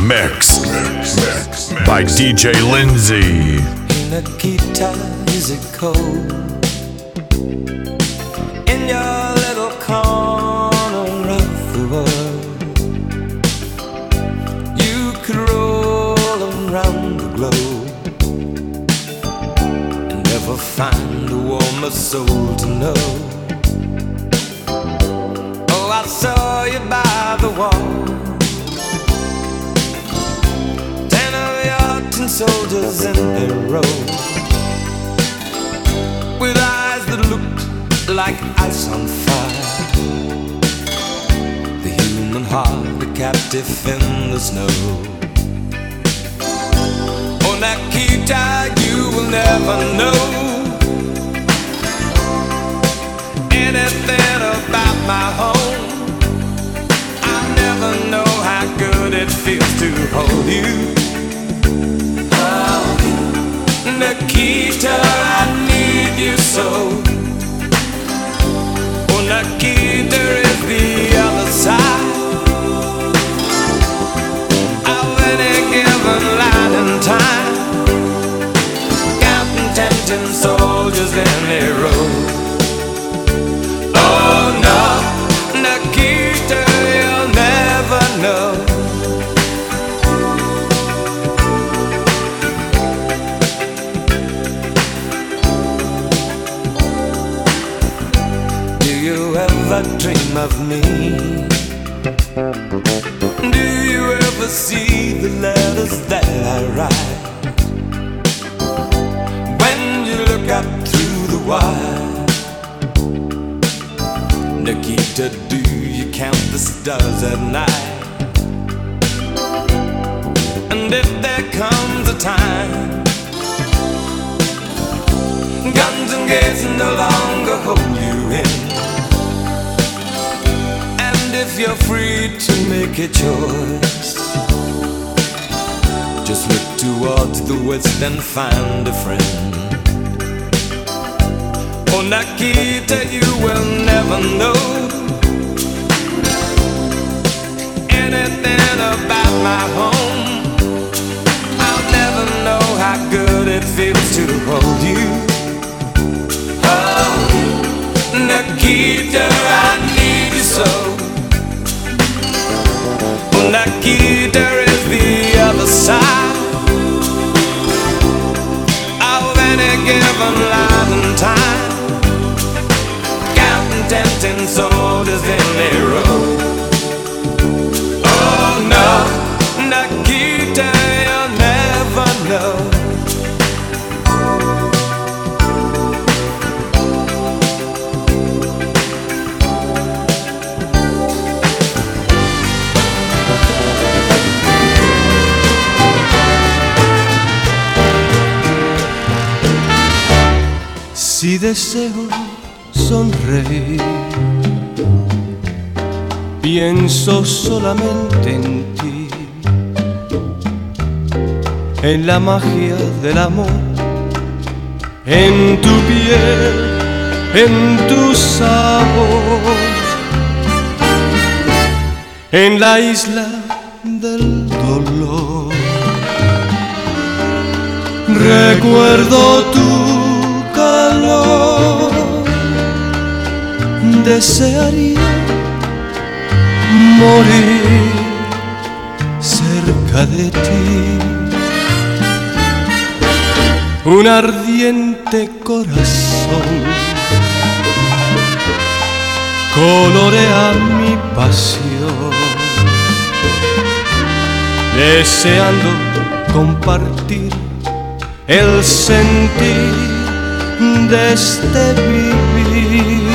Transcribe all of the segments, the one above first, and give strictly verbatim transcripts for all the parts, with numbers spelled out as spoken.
mix, mix, mix, mix by D J Lindsay. Nikita, is it cold in your little corner of the world? You could roll around the globe and never find a warmer soul to know. Oh, I saw you by the wall, ten of your tin soldiers in a row, with eyes that looked like ice on fire. The human heart, a captive in the snow. Oh, Nikita, you will never know anything about my home. I'll never know how good it feels to hold you. Nikita, I need you so. Oh, Nikita is the other side of any given light and time, counting ten tin soldiers in a row. Oh no, Nikita, you'll never know. Dream of me? Do you ever see the letters that I write? When you look up through the wire, Nikita, do you count the stars at night? And if there comes a time guns and gates no longer hold you in, if you're free to make a choice, just look towards the west and find a friend. Oh, Nikita, you will never know anything about my home. I'll never know how good it feels to hold you. Oh, Nikita, I need you so. Nikita is the other side of any given life and time, counting ten tin soldiers in a row. Oh no, Nikita, you'll never know. Si deseo sonreír, pienso solamente en ti, en la magia del amor, en tu piel, en tu sabor, en la isla del dolor. Recuerdo tu calor, desearía morir cerca de ti. Un ardiente corazón colorea mi pasión, deseando compartir el sentir de este vivir.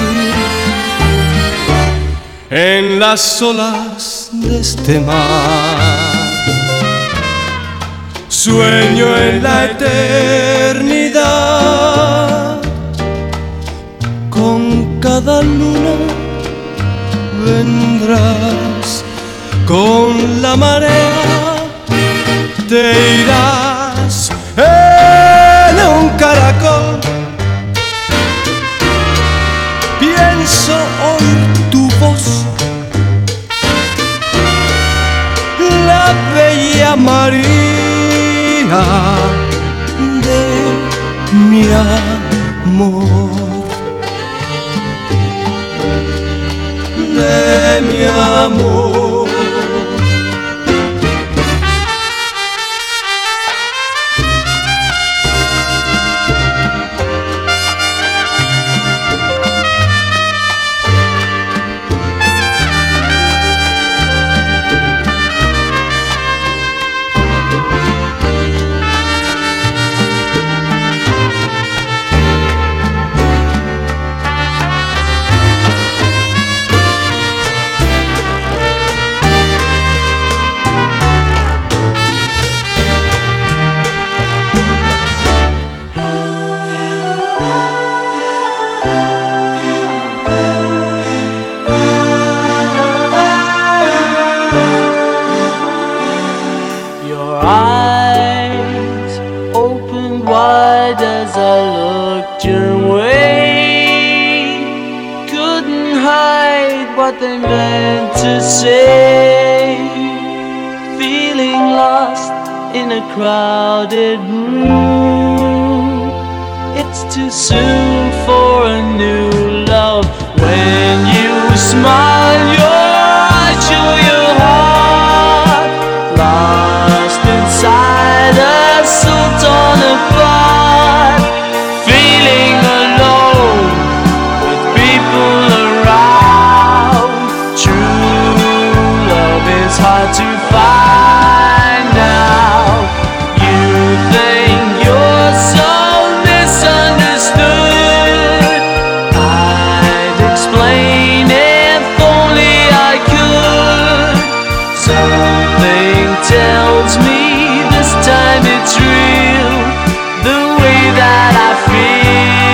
En las olas de este mar sueño en la eternidad. Con cada luna vendrás, con la marea te irás en un caracol. Pienso oír tu voz, la bella de mi amor. As I looked your way, couldn't hide what they meant to say. Feeling lost in a crowded room, it's too soon for a new love. When you smile, your eyes show your heart, lost inside a sultan apart. Hard to find now. You think you're so misunderstood. I'd explain if only I could. Something tells me this time it's real, the way that I feel.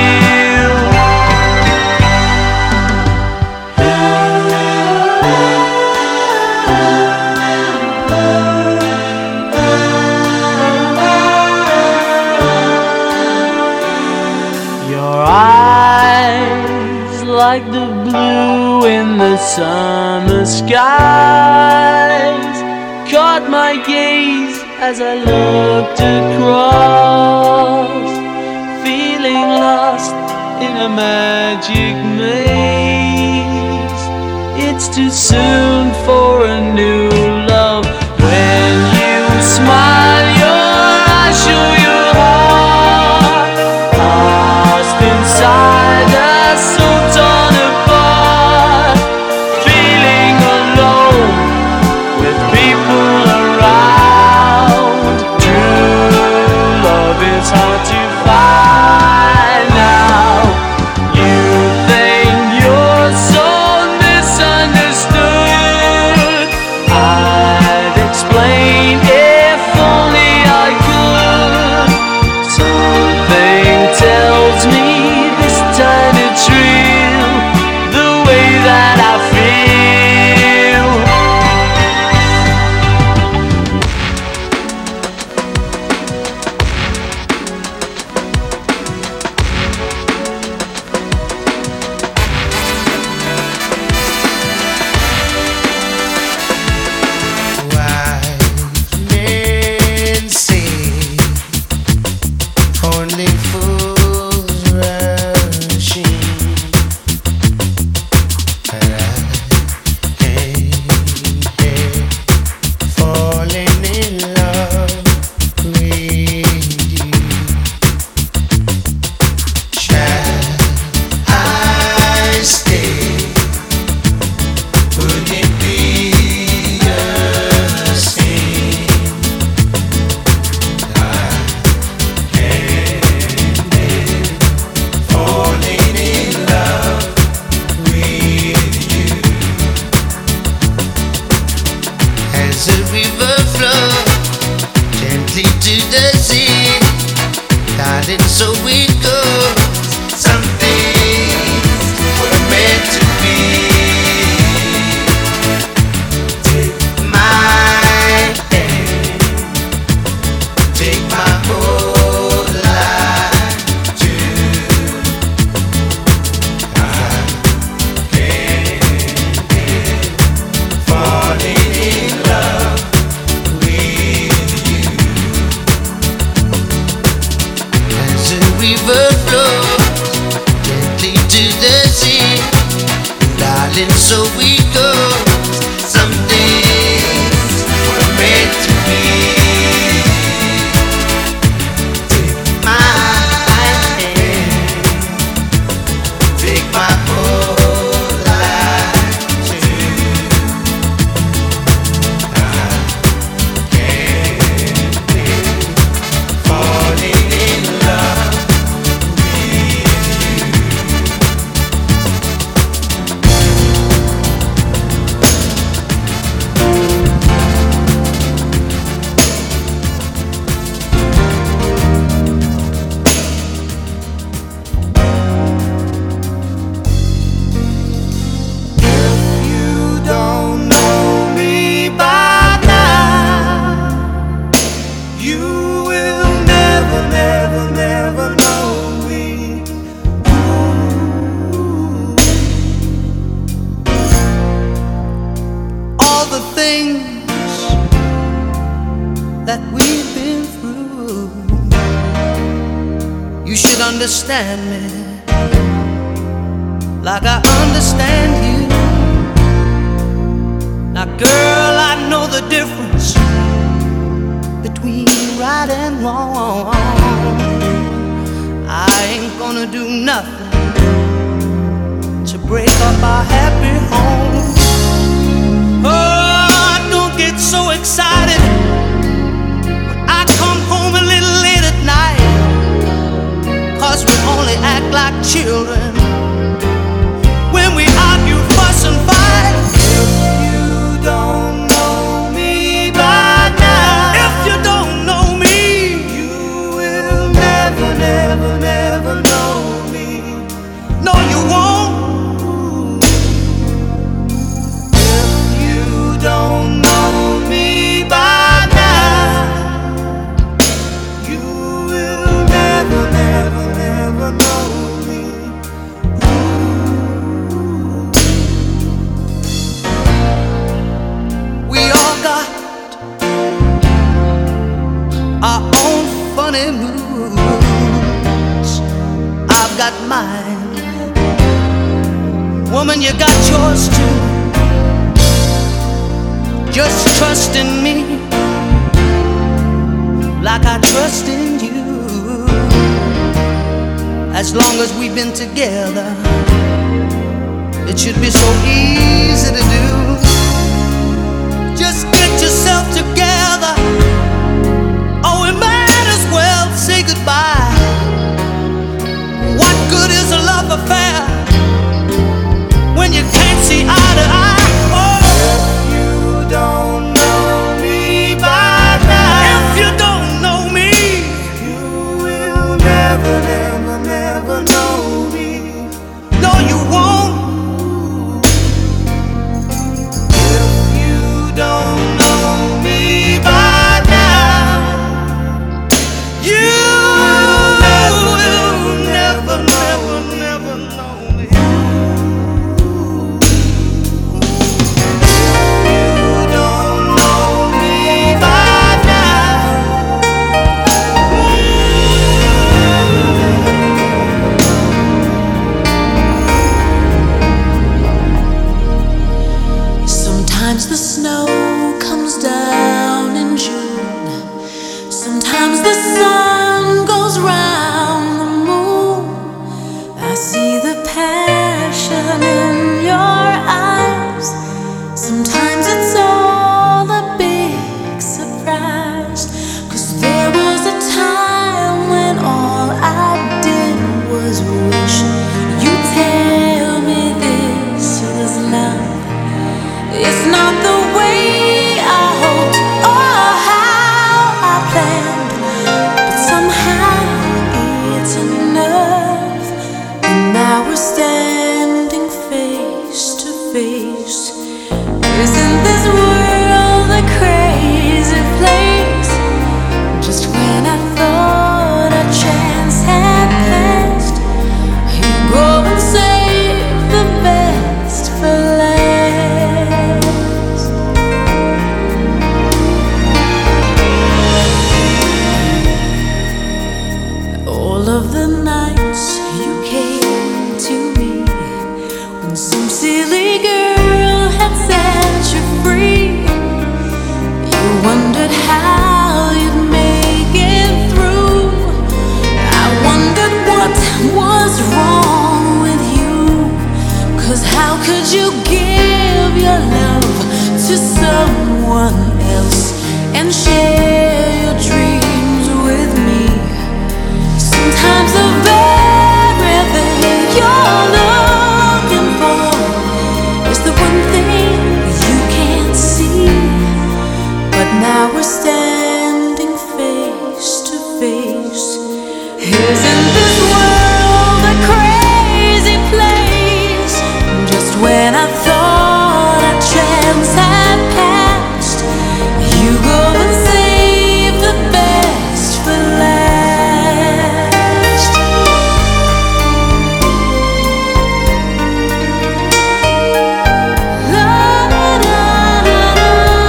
Like the blue in the summer skies, caught my gaze as I looked across, feeling lost in a magic maze. It's too soon for a new love. When you smile, your eyes show your heart, lost inside a sultan apart, feeling alone with people around. True love is hard to find now. You think you're so misunderstood. I'd explain if things that we've been through, you should understand me like I understand you. Now girl, I know the difference between right and wrong. I ain't gonna do nothing to break up our happy home. Oh, don't get so excited when I come home a little late at night, 'cause we only act like children when we argue, fuss and fight. If you don't know me by now, if you don't know me, you will never, never, never know me. No, you won't. If you don't know me by now, you will never, never, never know me. We all got our own funny moods. I've got mine. Woman, you got yours too. Just trust in me like I trust in you. As long as we've been together, it should be so easy to do. Just get yourself together, or we might as well say goodbye. What good is a love affair when you can't see eye to eye? Oh, if you don't know me by now, if you don't know me, you will never, never, never know me. No, you won't. If you don't know me by now, you will never, never, never know me. You don't know me by now. Sometimes the snow comes down in June. Sometimes the sun goes round the moon. I see the passion in your eyes. Sometimes it's all a big surprise. 'Cause there was a time when all I did was wish you'd tell me this was love. It's not the way I hoped or how I planned, but somehow it's enough. And now we're standing face to face. Isn't this world a crazy place? Just when I thought a chance had passed, you go and save the best for last. All of the nights you came to me when some silly girl had set you free, you wondered how you'd make it through. I wondered what was wrong with you. 'Cause how could you give your love to someone else and share your dreams with me? Sometimes the very thing you're looking for is the one thing you can't see. But now we're standing face to face. Isn't this world a crazy place? Just when I thought a chance had passed, you go and save the best for last. La, la, la, la, la.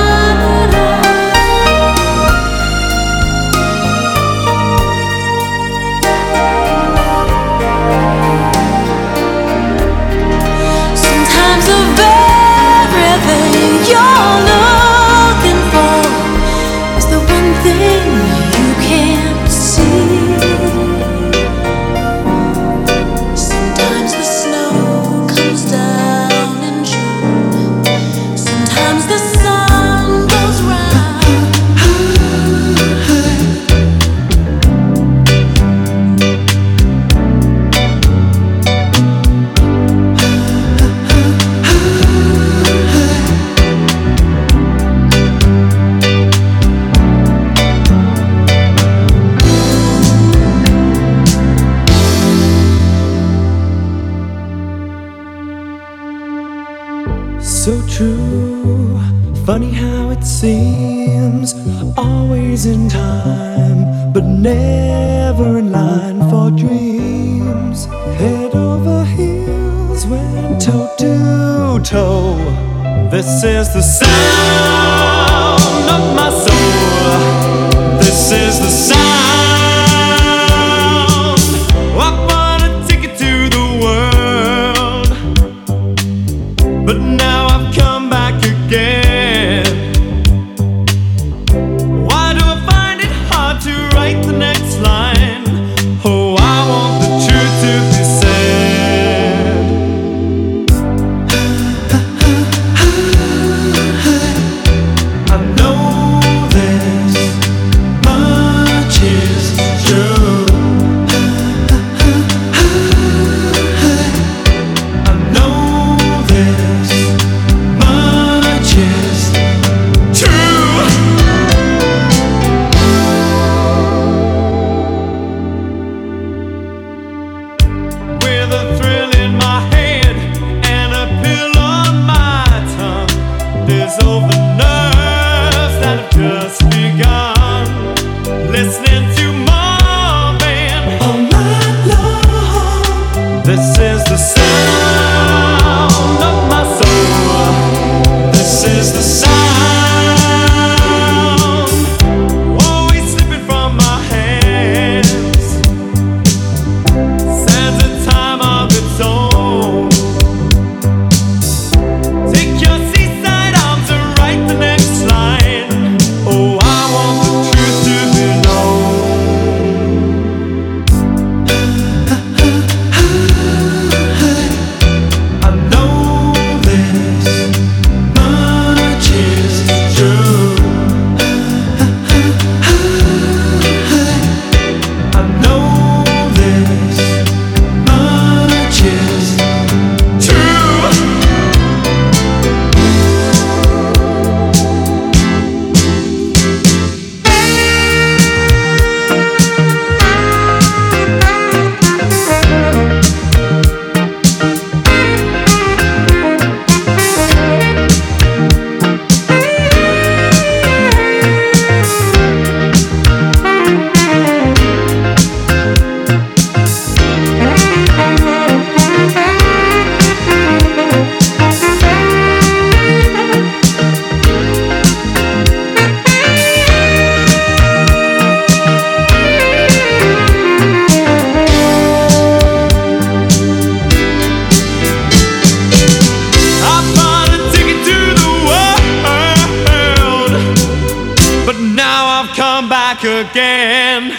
true. Funny how it seems, always in time, but never in line for dreams. Head over heels, went toe to toe. This is the sound of my soul. This is the sound. I wanna take it to the world, but now I've come back again. Why do I find it hard to write the next line? Oh, I want the truth to be said. I know this much is true. I know this much is true. With a thrill in my head and a pill on my tongue, dissolve the nerves that have just begun. Listening to Marvin all night long. This is the sound of my soul. This is the sound, always slipping from my hands. Stands a time of its own. Take your seaside arms and write the next line. Oh, I want the truth to be known. I know this much is true. I know this much is true. I bought a ticket to the world, but now I've come back again.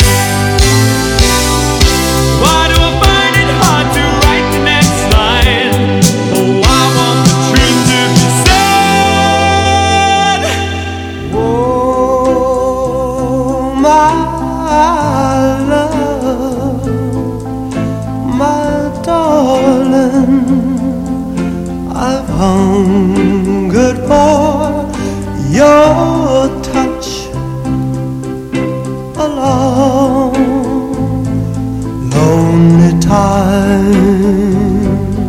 Why do I find it hard to write the next line? Oh, I want the truth to be said. Oh, my love, my darling, I've hungered for your touch a long, lonely time.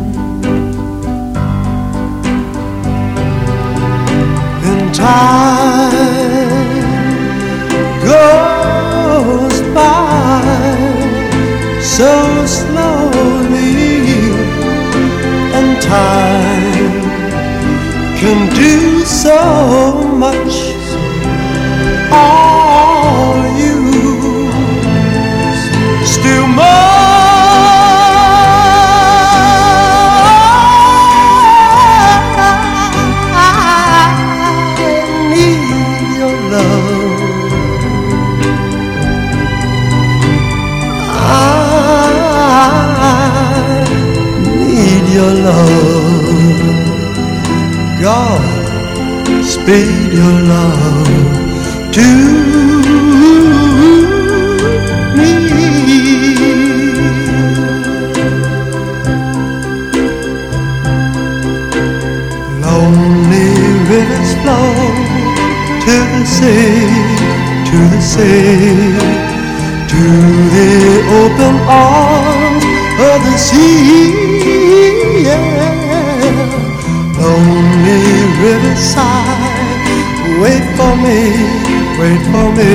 And time goes by so slowly, and time can do so much. All you still your love, God, speed your love to me. Lonely rivers flow to the sea, to the sea, to the open arms of the sea. Yeah. lonely riverside. Wait for me, wait for me.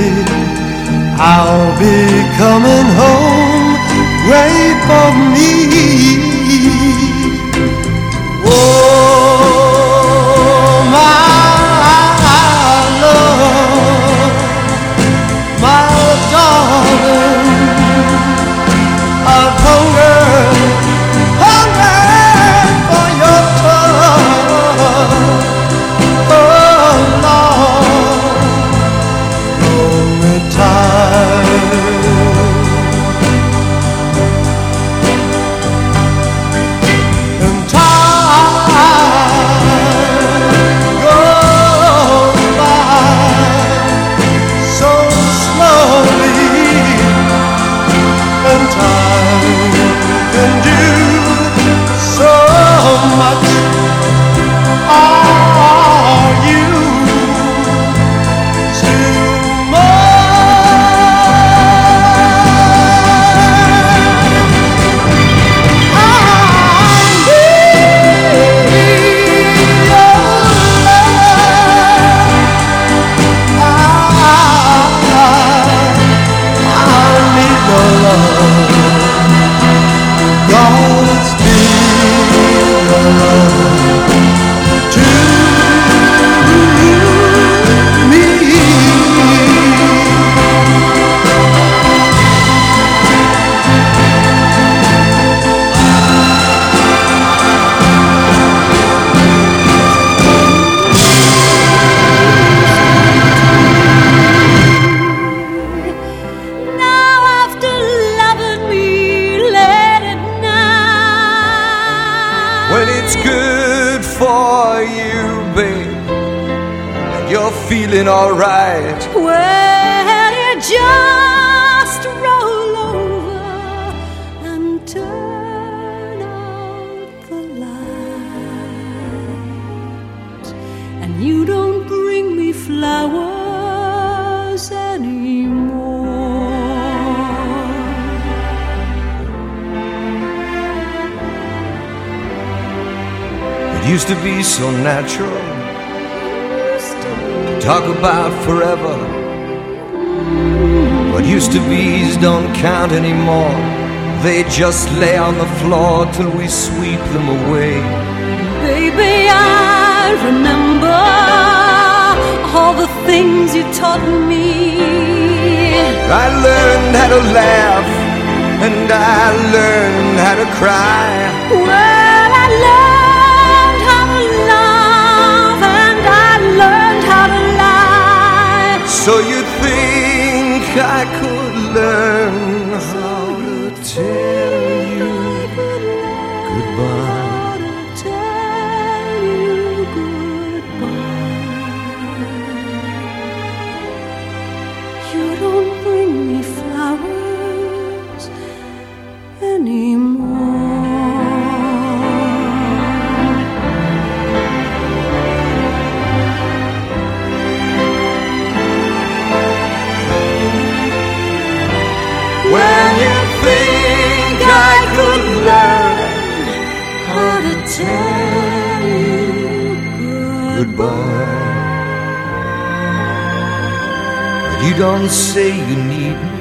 I'll be coming home. Wait for me. Oh, my love, my darling, I've hungered, hungered for your touch. Oh, Lord, lonely time. And time goes by so slowly, and time can do so much. Are you still mine? I need your love. I, I need your love. God's dear love to me. Now after loving me late at night, When it's good for you, babe, and you're feeling alright. well, you just roll over and turn out the light, and you don't bring me flowers anymore. It used to be so natural to talk about forever. What used to be's don't count anymore. They just lay on the floor till we sweep them away. Baby, I remember all the things you taught me. I learned how to laugh, and I learned how to cry. Well, I learned how to love, and I learned how to lie. So you think I could learn how to tell you goodbye? How to tell you goodbye. You don't bring me flowers anymore. When you think I could learn How to tell you goodbye, but you don't say you need me.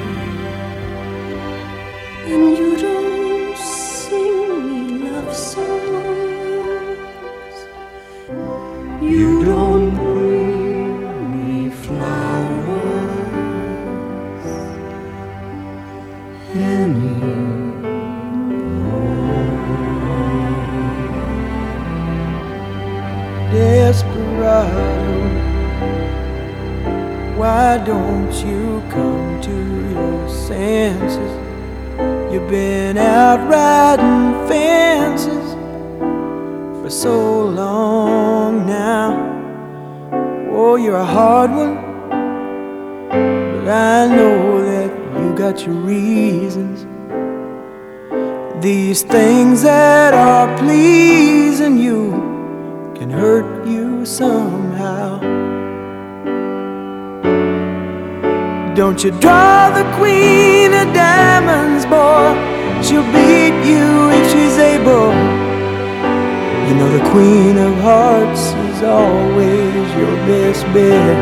and you don't sing me love songs. You don't bring me flowers anymore. Desperado, why don't you come to your senses? You've been out riding fences for so long now. Oh, you're a hard one, but I know that you got your reasons. These things that are pleasing you can hurt you somehow. Don't you draw the queen of diamonds, boy. She'll beat you if she's able. You know the Queen of Hearts is always your best bet.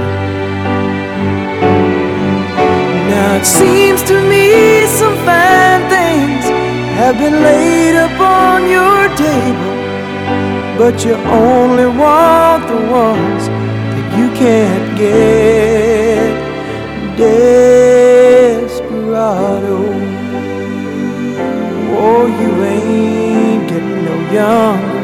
Now it seems to me some fine things have been laid upon your table, but you only want the ones that you can't get. Desperado, oh, you ain't getting no younger.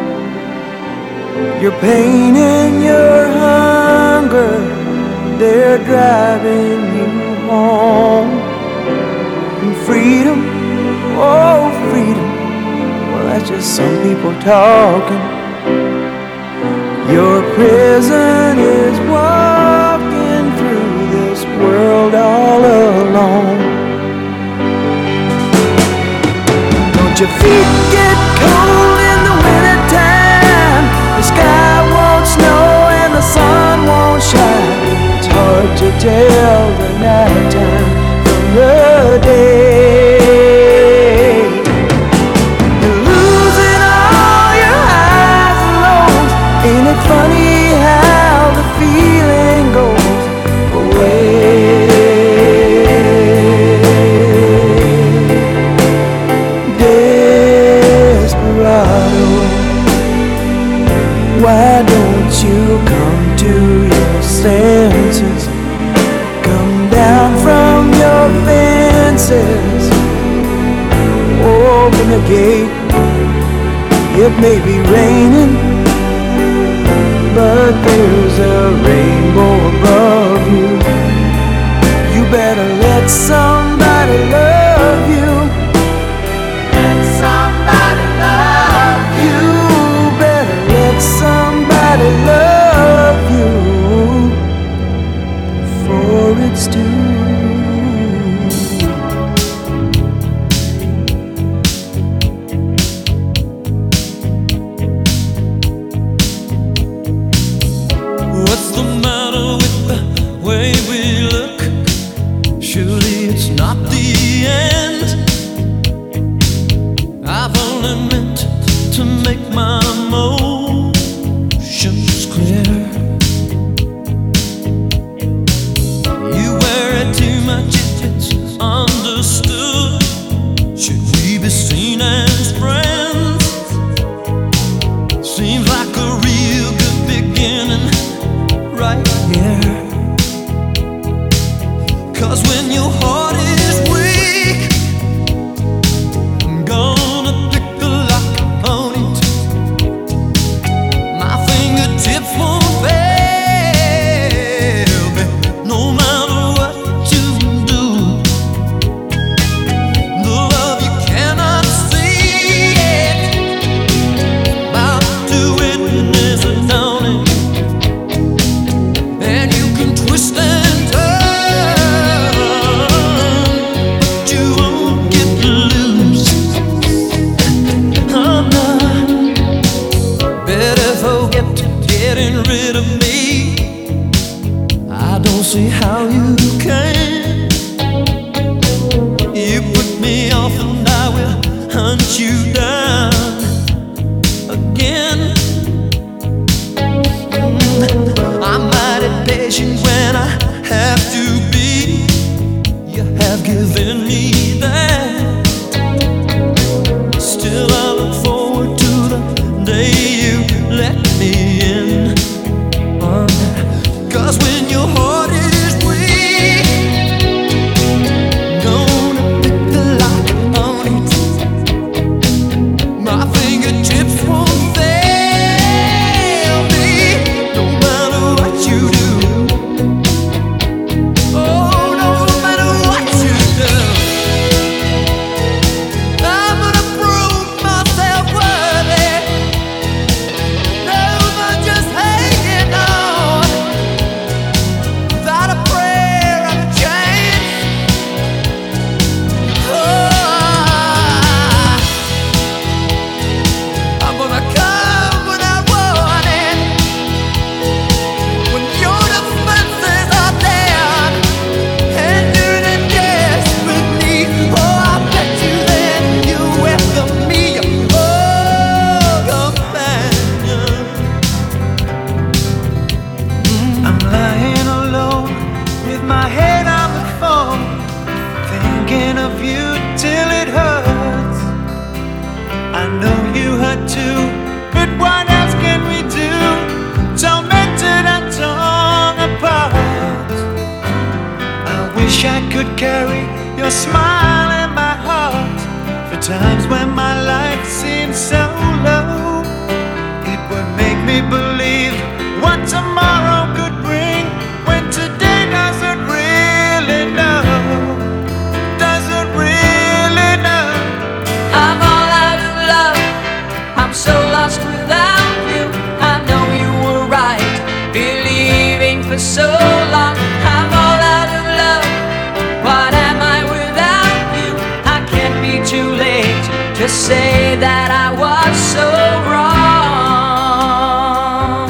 Your pain and your hunger, they're driving you home. And freedom, oh freedom, well that's just some people talking. Your prison is walking through this world all alone. Don't your feet get cold in the wintertime? The sky won't snow and the sun won't shine. It's hard to tell the nighttime from the day. You're losing all your highs and lows. Ain't it funny how the feeling goes away? Desperado, why don't you come to your senses? Come down from your fences. Open the gate. It may be raining, but there's a rainbow above you. You better let somebody love you. Let somebody love you. You better let somebody love you before it's too. What's the matter with the way we look? Surely it's not the end. I've only meant to make my emotions clear. You worry too much if it's understood. Should we be seen as friends? Seems like a real good beginning right here. 'Cause when your heart is weak, I'm gonna pick the lock on it. My fingertips won't fail me, no matter what you do. The love you cannot see it, about to witness a dawning. And you can twist and turn, but you won't get loose. I'm not better forget getting rid of me. I don't see how you can. You put me off and I will hunt you down again. I'm mighty patient when I have to be. You have given me that. Still I look forward to the day you let me in. 'Cause when your heart is weak, could carry your smile in my heart. For times when my life seemed so low, it would make me believe what tomorrow could bring, when today doesn't really know, doesn't really know. I'm all out of love, I'm so lost without you. I know you were right, believing for so long. I'm all out of love, what am I without you? I can't be too late to say that I was so wrong.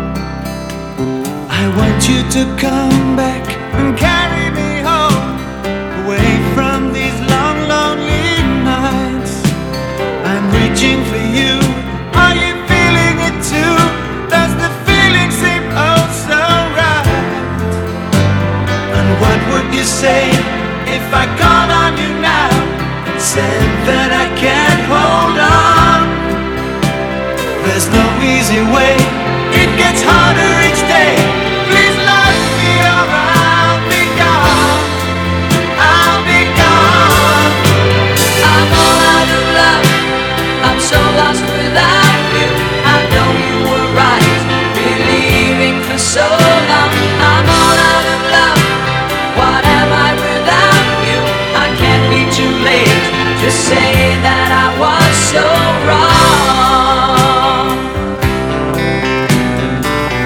I want you to come back and carry me home, away from these long, lonely nights. I'm reaching for you, are you feeling it too? Does the feeling seem oh so right? And what would you say if I called on you now and said that I can't hold on? There's no easy way, it gets harder each day. Please love me or I'll be gone, I'll be gone. I'm all out of love, I'm so lost without you. I know you were right, believing for so long. I'm all out of love, what am I without you? I can't be too late to say that I was so wrong.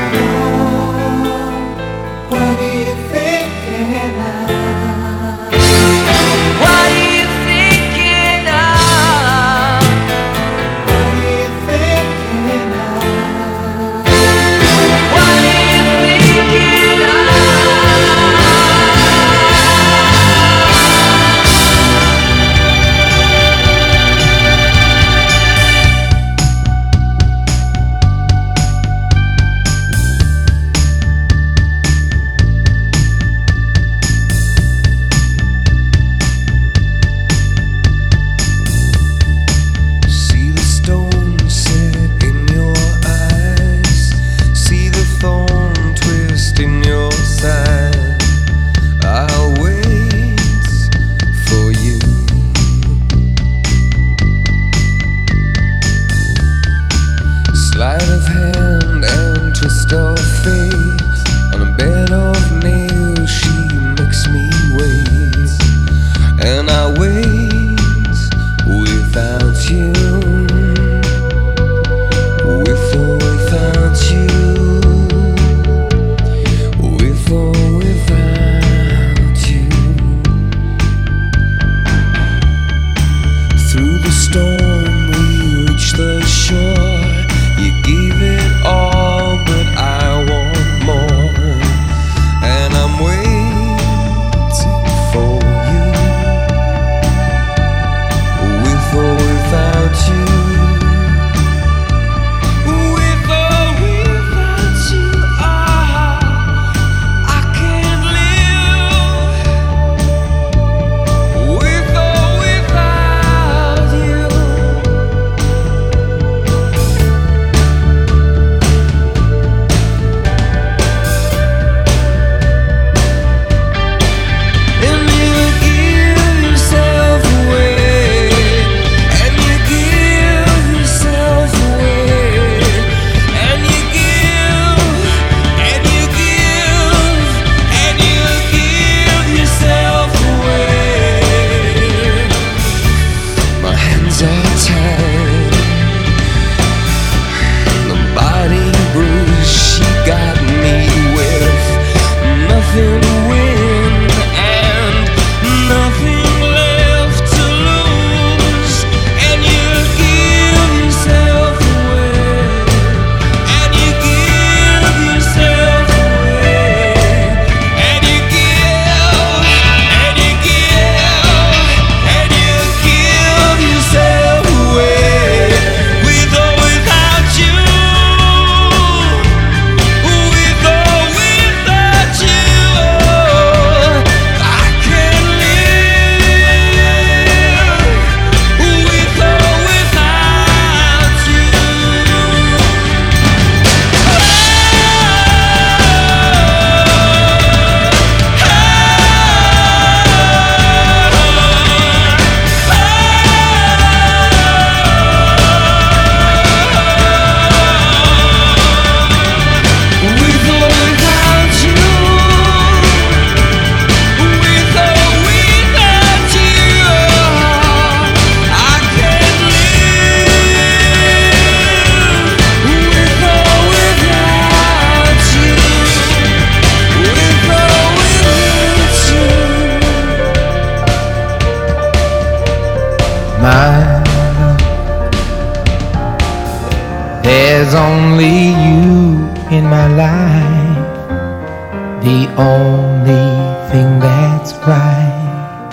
only you in my life, the only thing that's right.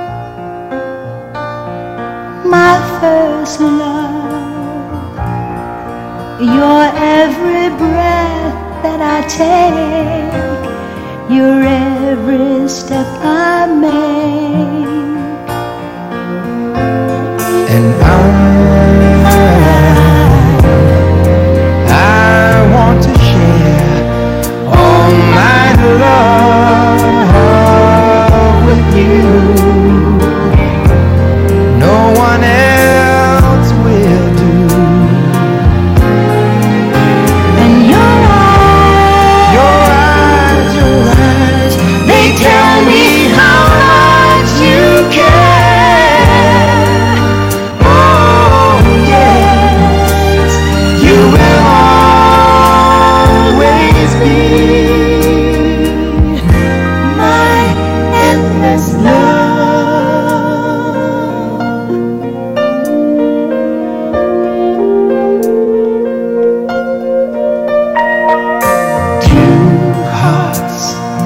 My first love, your every breath that I take, your every step I make, and I, I want to share all my love with you. No one else will do. and your eyes, Your eyes, your eyes, they tell me how much you care. oh yes, you will always be My endless love. two hearts,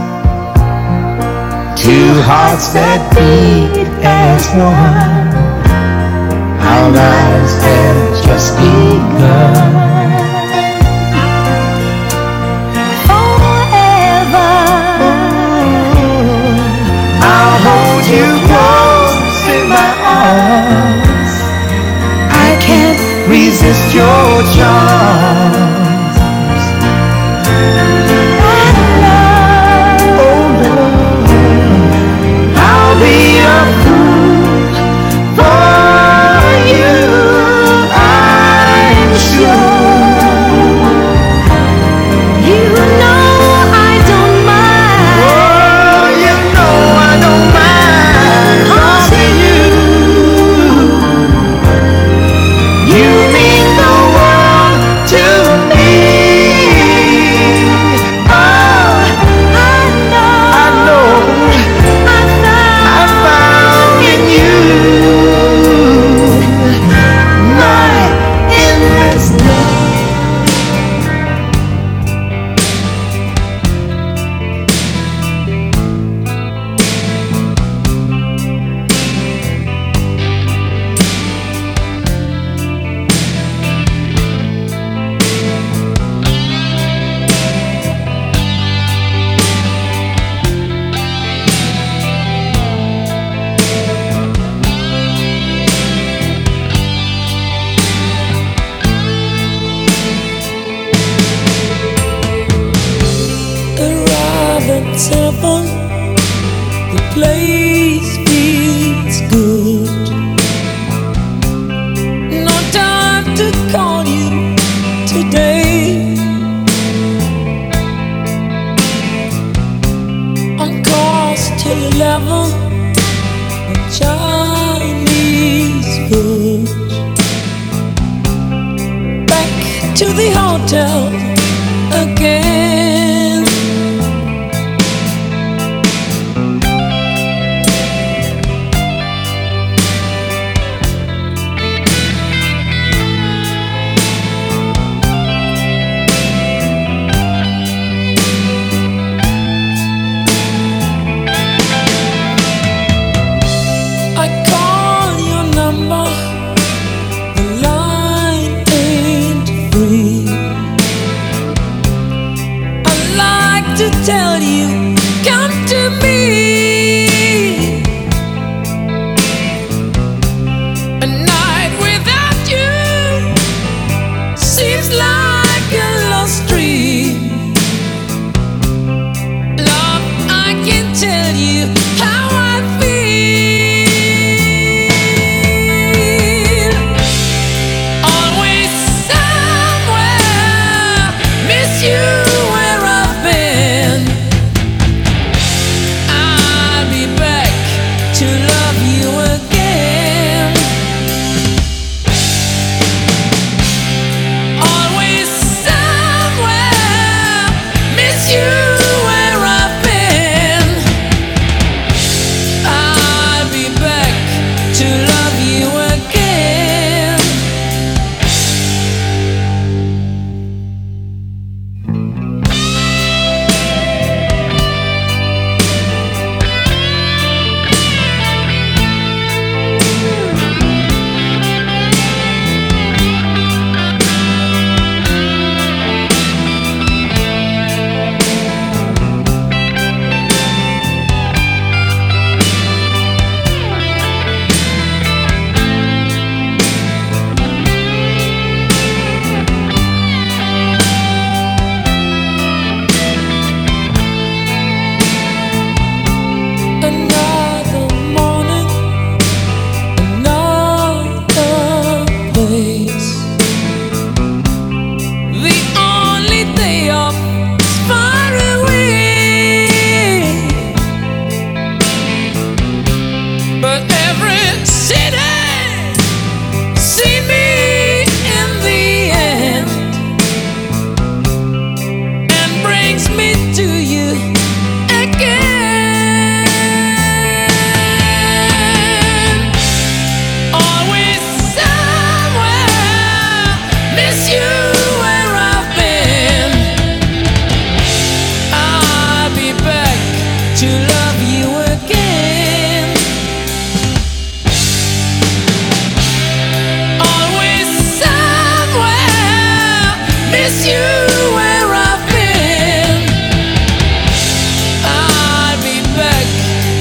two hearts that beat as one. Our lives have just begun. Forever, I'll hold you close in my arms. I can't resist your charms. Oh love, I'll be a fool for you, I'm sure. you know I don't mind. Oh, you know I don't mind loving you. You mean the world to me. Oh, I know, I know I found, I found in you my endless love. Arrive at seven, the place feels good. No time to call you today. On course till eleven, Chinese food. Back to the hotel again. I call your number, the line ain't free. I like to tell you, come to me. A night without you seems like a lost dream. Love, I can tell you how I feel. Always somewhere, miss you where I've been.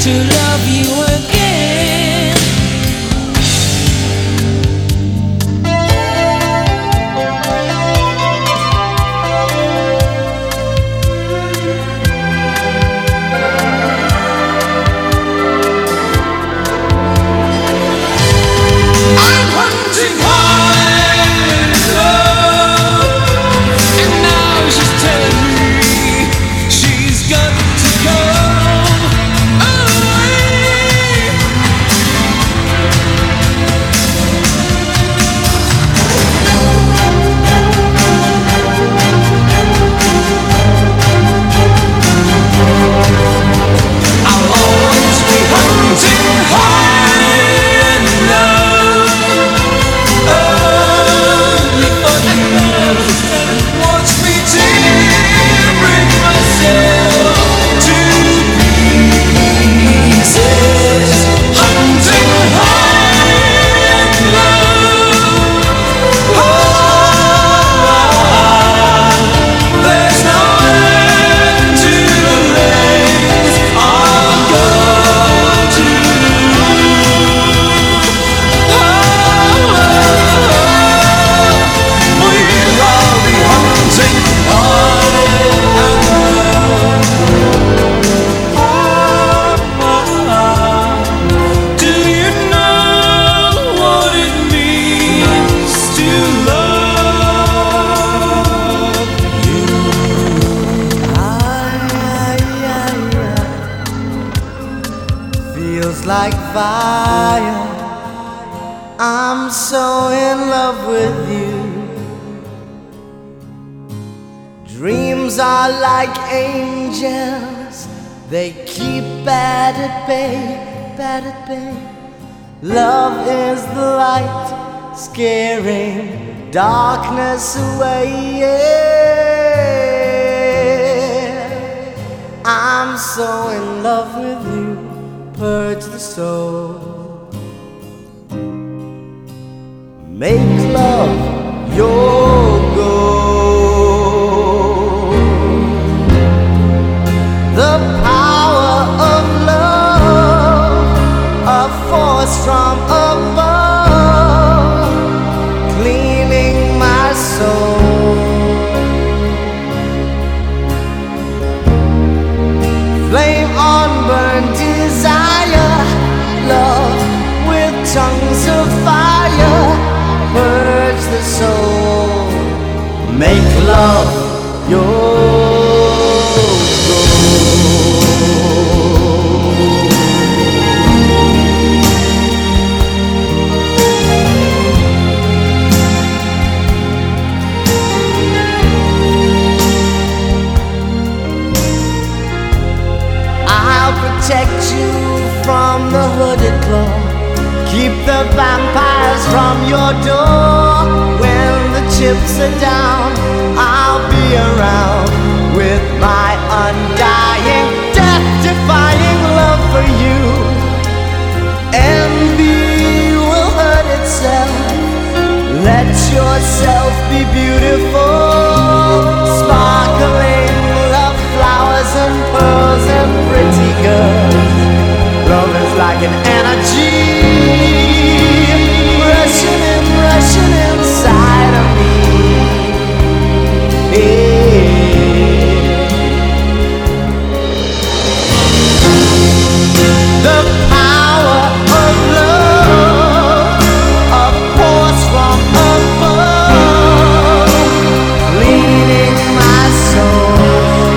to love you again. I'm hunting high love, and now she's telling me she's got to go away. I'll always be hunting high and low, only for you. Watch me tearing myself to pieces, hunting high and low. There's no end to the lengths I'll go to. We'll all be hunting high and low. Do you know what it means to love you? Feels like fire. I'm so in love with you. Dreams are like angels. They keep bad at bay, bad at bay. Love is the light, scaring darkness away. Yeah. I'm so in love with you. Purge the soul. Make love your goal. The power of love, a force from above, cleaning my soul. Flame on burn desire, love with tongues of fire, purge the soul, make love your I'll protect you from the hooded claw, keep the vampires from your door. When the chips are down, I'll be around with my undying, death-defying love for you. Envy will hurt itself. Let yourself be beautiful, sparkling love flowers and pearls and pretty girls. Love is like an energy rushing in, rushing inside of me. Yeah. The power of love, a force from above, leading my soul.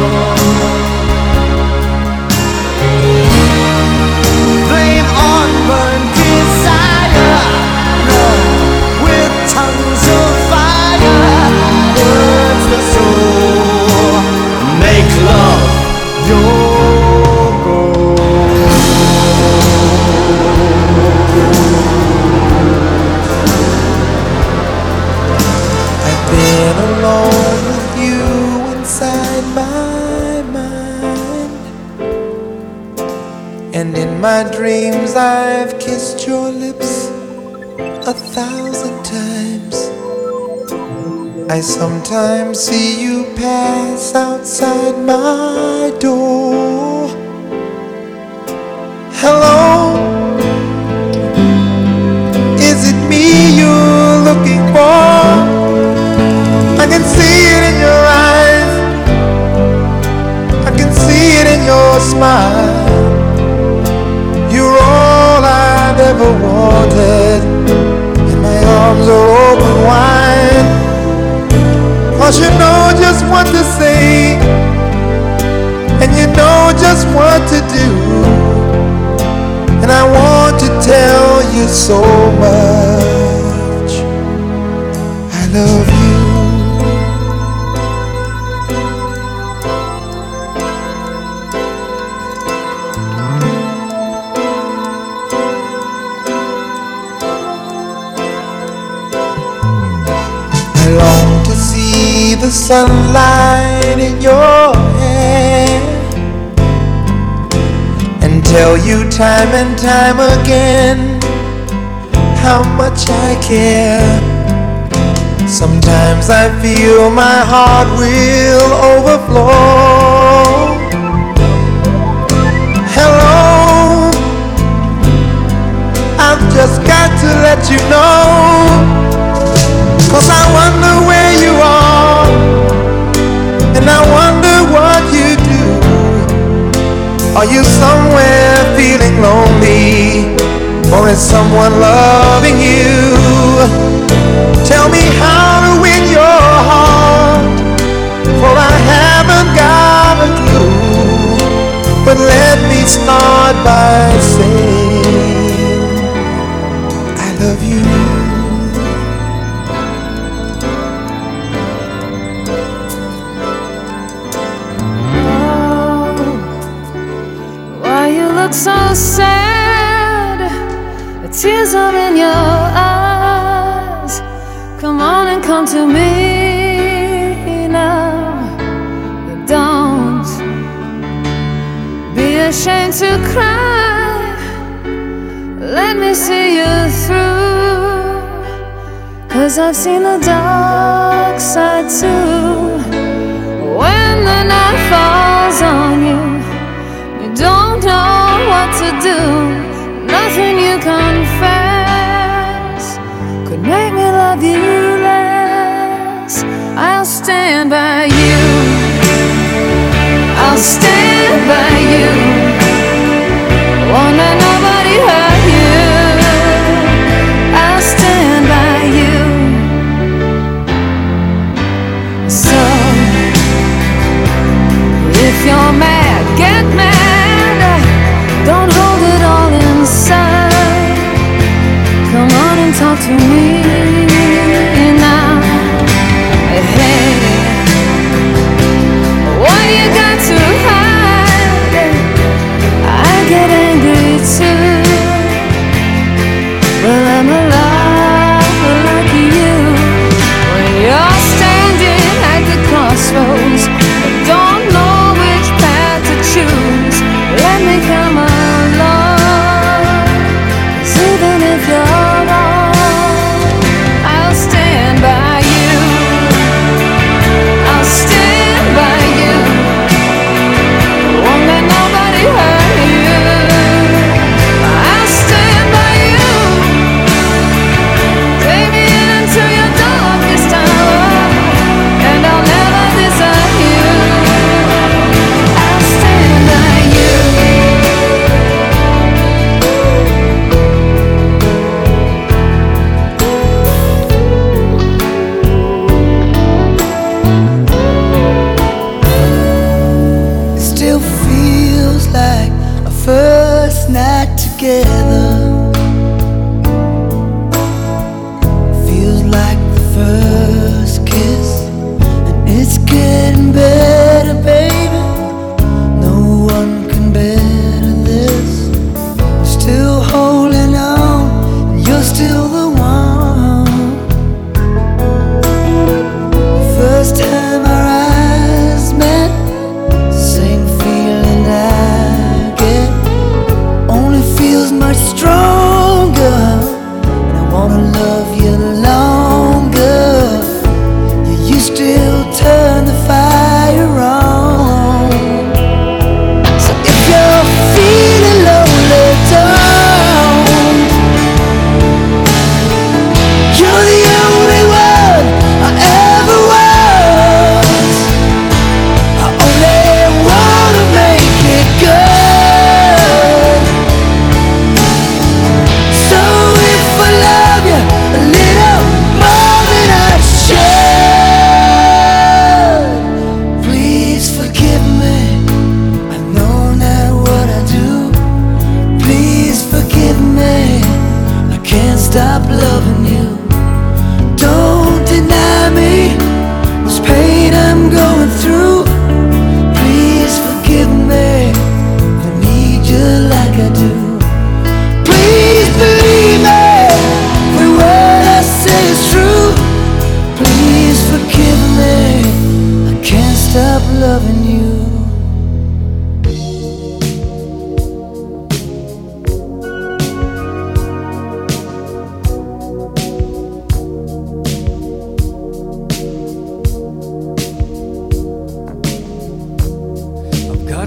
Flame on burn desire, love with tongues of fire, burns the soul, make love your goal. I've been alone with you inside my mind, and in my dreams I've kissed your lips a thousand times. I sometimes see you pass outside my door, smile. You're all I've ever wanted, and my arms are open wide. 'Cause you know just what to say, and you know just what to do. And I want to tell you so much I love you. I long to see the sunlight in your hair and tell you time and time again how much I care. Sometimes I feel my heart will overflow. Hello, I've just got to let you know, 'cause I wonder where you are, and I wonder what you do. Are you somewhere feeling lonely, or is someone loving you? Tell me how to win your heart, for I haven't got a clue. But let me start by saying I love you. So sad, the tears are in your eyes. Come on and come to me now. Don't be ashamed to cry. Let me see you through, 'cause I've seen the dark side too. When the night falls on you, you don't know what to do. Nothing you confess could make me love you less. I'll stand by you, I'll stand by you. Won't let nobody hurt you. I'll stand by you. So if you're mad, get mad. Don't hold it all inside. Come on and talk to me now. Hey, what you got to hide? I get angry too. Well, I'm alive like you. When you're standing at the crossroads, don't know which path to choose. Let me come along, 'cause even if you're wrong, I'll stand by you. I'll stand by you. Won't let nobody hurt you. I'll stand by you. Take me into your darkest hour, and I'll never desert you. I'll stand by you. Still feels like a first night together. Feels like the first kiss, and it's getting better, baby. No one can better this. Still holding on, and you're still the one. The first time our eyes met, same feeling I get, only feels much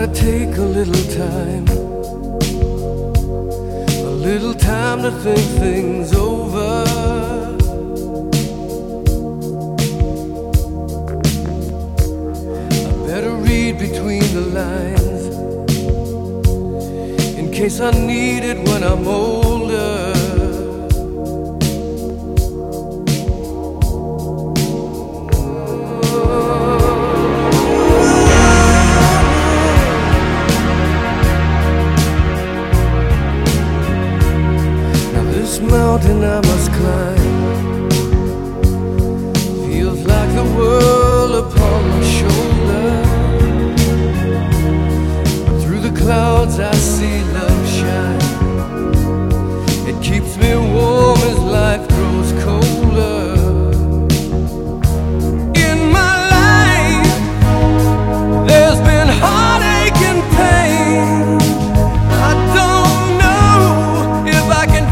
gotta take a little time, a little time to think things over. I better read between the lines in case I need it when I'm older. Mountain I must climb feels like the world upon my shoulder. But through the clouds I see love shine. It keeps me warm as life grows colder. In my life there's been heartache and pain. I don't know if I can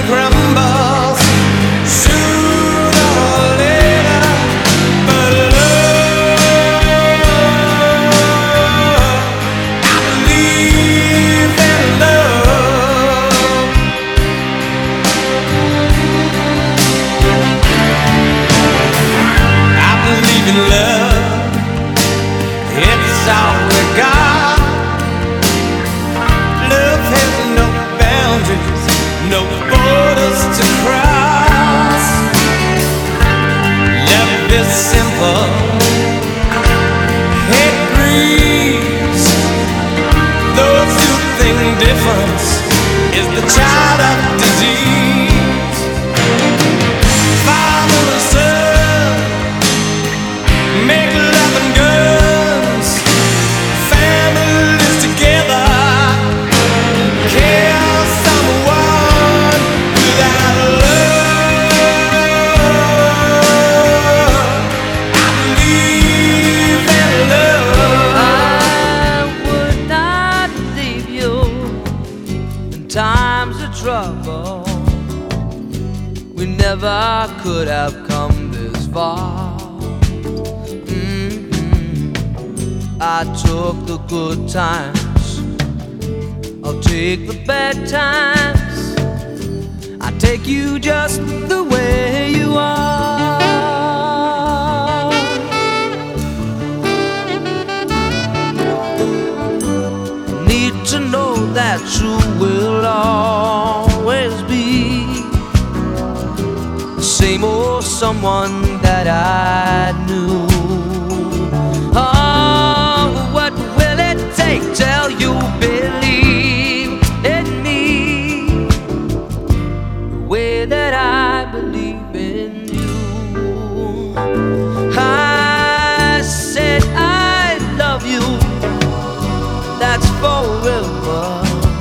Crumbles sooner or later, but love times of trouble, we never could have come this far. Mm-hmm. I took the good times, I'll take the bad times. I take you just the way you are. Need to know that you will always be the same old someone that I knew. Oh, what will it take till you believe in me the way that I believe in you? I said I love you, that's forever.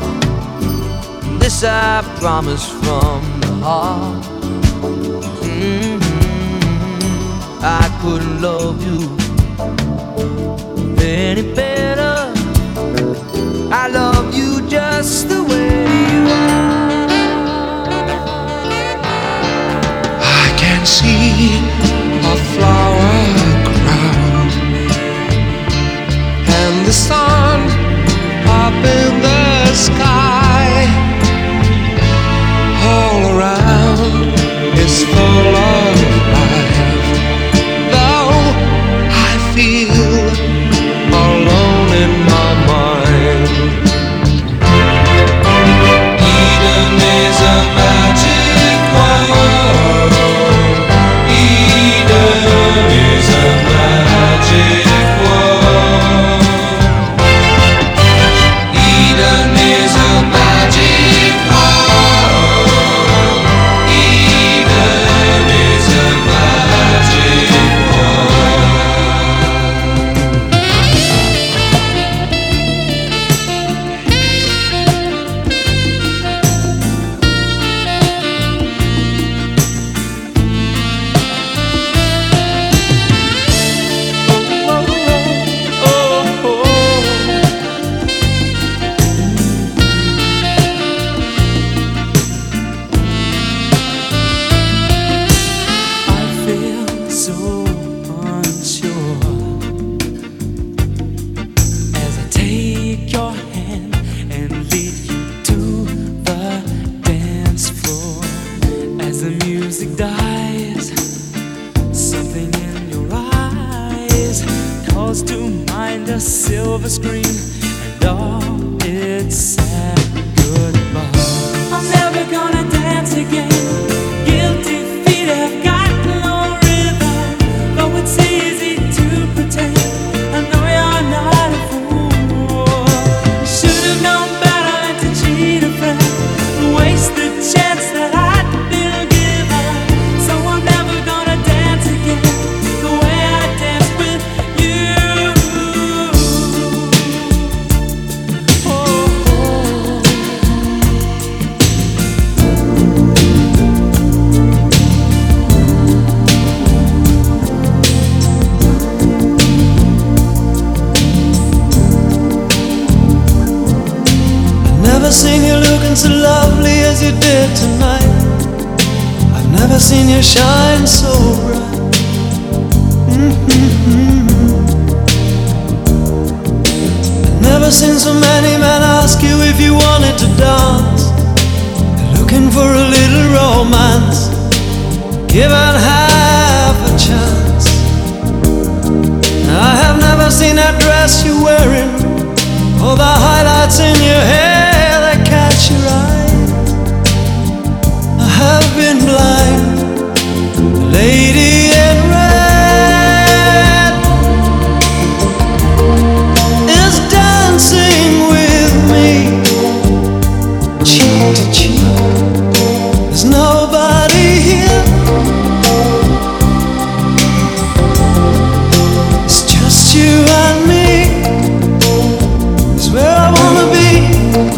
This I promise from the heart. Mm-hmm. I couldn't love you any better. I love you just the way you are. I can see a flower crown and the sun up in the sky. All around is full of life, though I feel alone in my mind. Eden is a magic world. Eden is a magic world. Eden is a magic world. Eden is a magic world. I feel so unsure as I take your hand and lead you to the dance floor. As the music dies, something in your eyes calls to mind a silver screen and all its sad goodbye. I'm never gonna dance again. Guilty feet have got no rhythm. Though it's easy to pretend, I know you're not a fool. You should have known better than to cheat a friend and waste the chance that I'd been given. So I'm never gonna dance again the way I danced with you. Oh, oh. Never seen you looking so lovely as you did tonight. I've never seen you shine so bright. Mm-hmm. I've never seen so many men ask you if you wanted to dance. They're looking for a little romance, given half a chance. I have never seen that dress you're wearing, or the highlights in your hair that catch your eye. I have been blind. The lady in red is dancing with me, cheek to cheek. There's nobody here. It's just you and me. It's where I wanna be.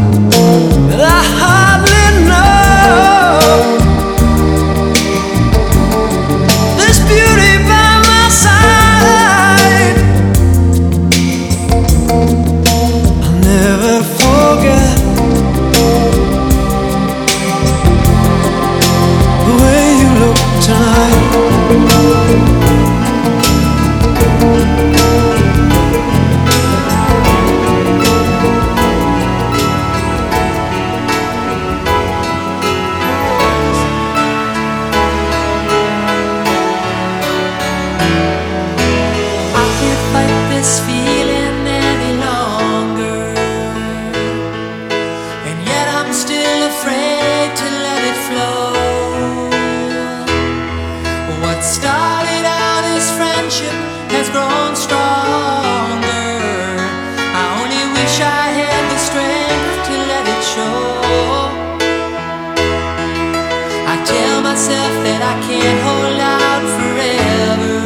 I can't hold out forever.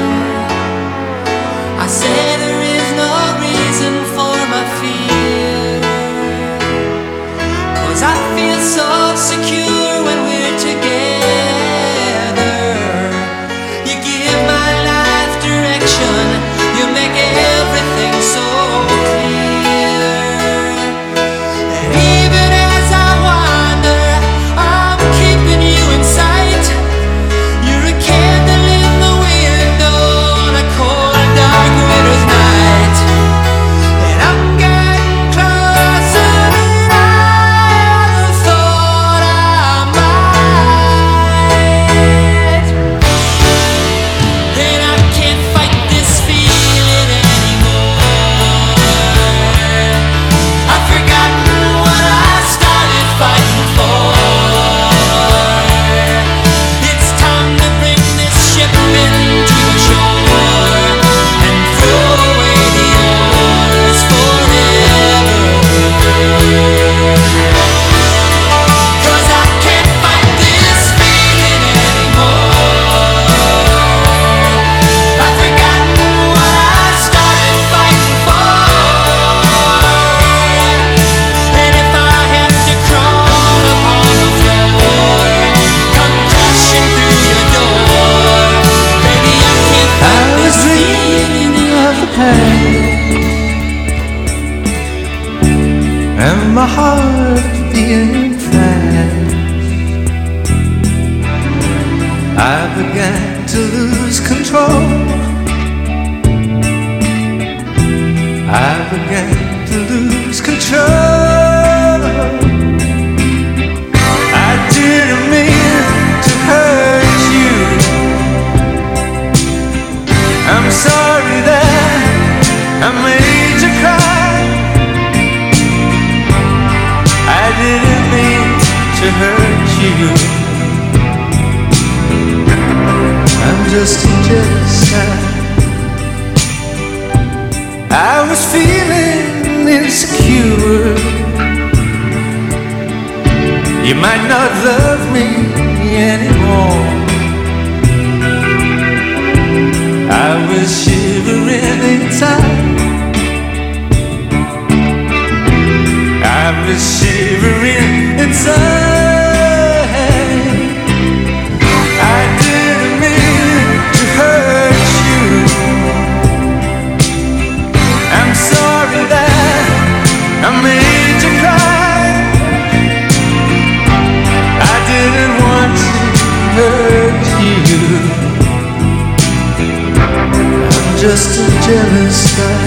I say there is no reason for my fear, 'cause I feel so secure when we're together. You give my life direction, you make everything so clear. And even as I wander, I'm keeping you in sight. You're a candle in the window on a cold, dark winter's night. And I'm getting closer than I ever thought I might. And I can't fight this feeling anymore. I've forgotten what I started fighting for. It's time to bring this ship into the shore and throw away the oars forever. 'Cause I can't fight this feeling anymore. I've forgotten what I started fighting for. And if I have to crawl upon the floor, come crashing through your door, baby, I can't I fight was this feeling dreaming of the pain and my heart being fast. I began to lose control. I began to lose control. I didn't mean to hurt you. I'm sorry that I made you cry. I didn't mean to hurt you. I'm just a jealous guy. I was feeling insecure. You might not love me anymore. I was shivering inside. I was shivering inside. I didn't mean to hurt you. I'm sorry that I made you cry. I didn't want to hurt you. I'm just a jealous guy.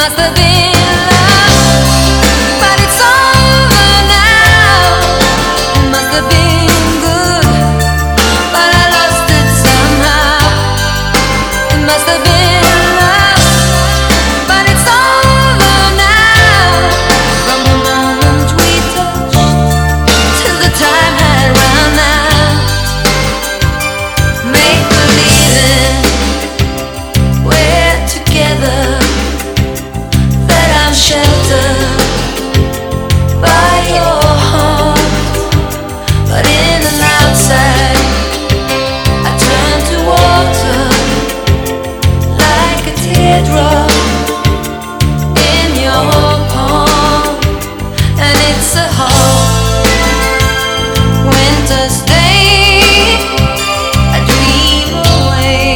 must have been love, but it's over now. It must have been good, but I lost it somehow. It must have been love, but it's over now. From the moment we touched till the time had run out. Make believing we're together, that I'm sheltered by your heart. But in and outside, I turn to water like a teardrop in your palm. And it's a hard winter's day, I dream away.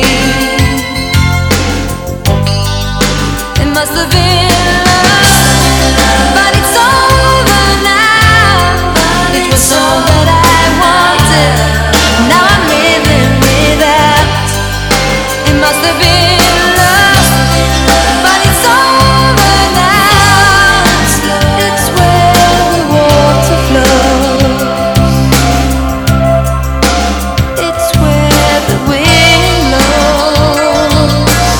It must have been love, but it's over now. It was all that I wanted, now I'm living without. It must have been love, but it's over now. It's where the water flows, it's where the wind blows.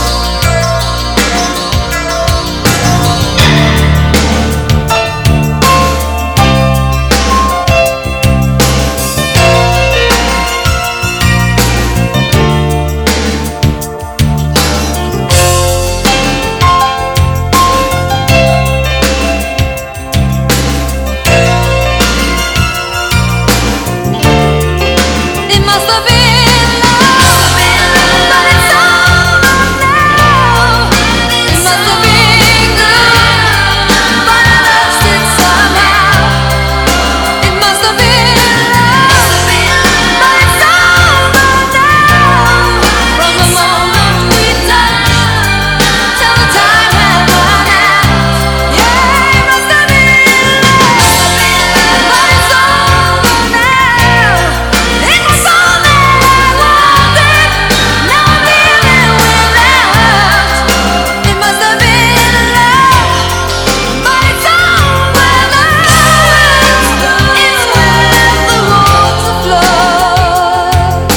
It must have been love, but it's over now. It must have been good, but I lost it somehow. It must have been love, but it's over now. From the moment we touched till the time had run out. Yeah, it must have been love, but it's over now. It was all that I wanted, now I'm living without. It must have been love, but it's over now. It's where the water flows,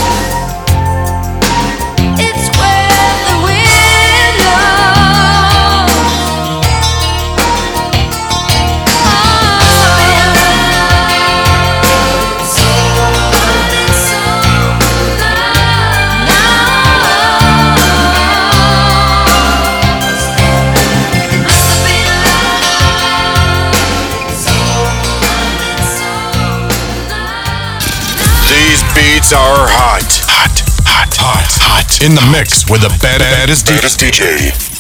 it's where the wind blows. These beats are hot. Hot, hot, hot, hot. In the mix with the baddest D J.